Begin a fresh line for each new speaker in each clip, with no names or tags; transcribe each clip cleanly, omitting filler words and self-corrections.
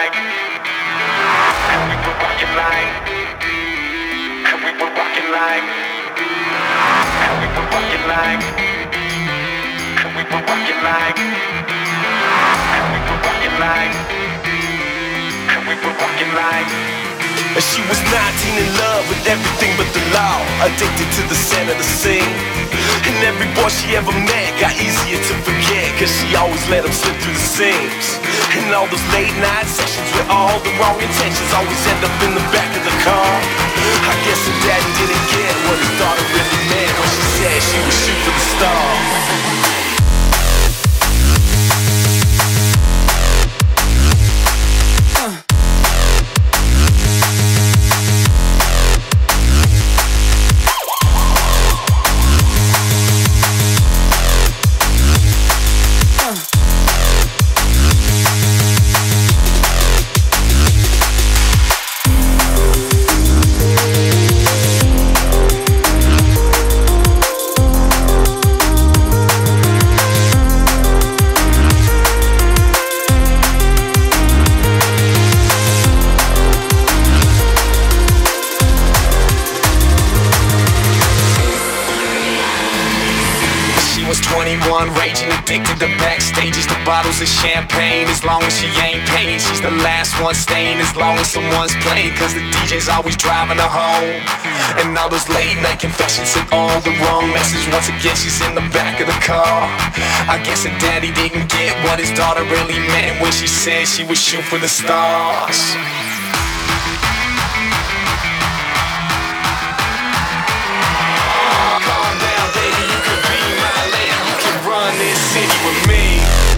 like, and we were rocking like, and we were rocking like, and we were rocking like, and we were rocking like, and we were rocking like, and we were rocking like. And she was 19 in love with everything but the law, addicted to the scent of the scene. And every boy she ever met got easier to forget, cause she always let him slip through the seams. And all those late night sessions with all the wrong intentions always end up in the back of the car. I guess her daddy didn't get what his daughter really meant when she said she would shoot for the stars. Raging, addicted to backstages, the bottles of champagne. As long as she ain't paying, she's the last one staying. As long as someone's playing, cause the DJ's always driving her home. And all those late night confessions sent all the wrong message. Once again she's in the back of the car. I guess her daddy didn't get what his daughter really meant when she said she would shoot for the stars. City with me.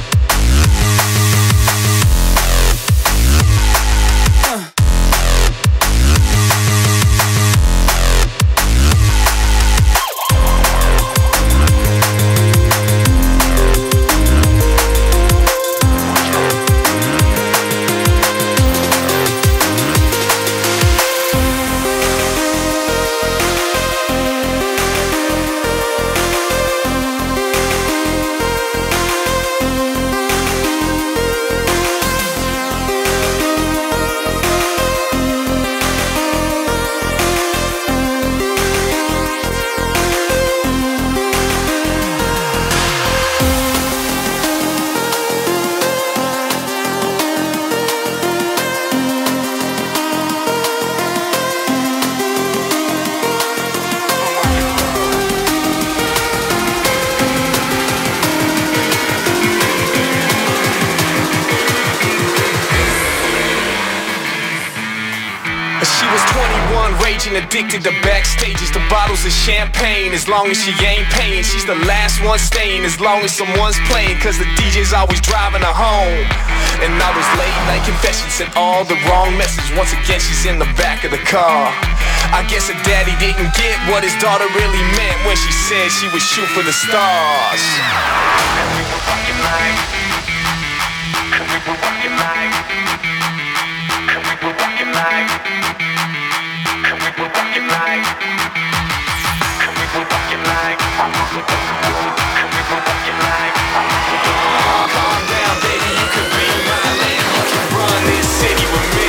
Addicted to backstages, the bottles of champagne. As long as she ain't paying, she's the last one staying. As long as someone's playing, cause the DJ's always driving her home. And all those late night confessions sent all the wrong message. Once again she's in the back of the car. I guess her daddy didn't get what his daughter really meant when she said she would shoot for the stars. And we were rocking like, and we were rocking like, and we were rocking like, and we were rocking like, and we were rocking like, and we were rocking like. Calm down, baby, you could be my man. You can run this city with me.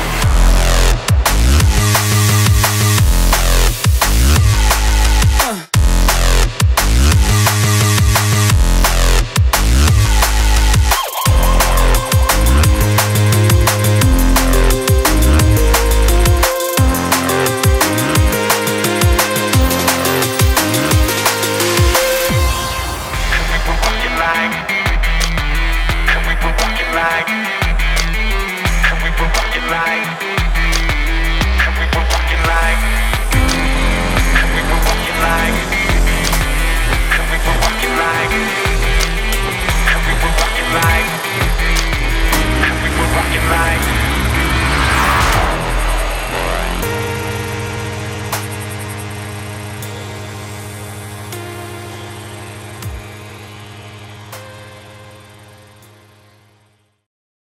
like night.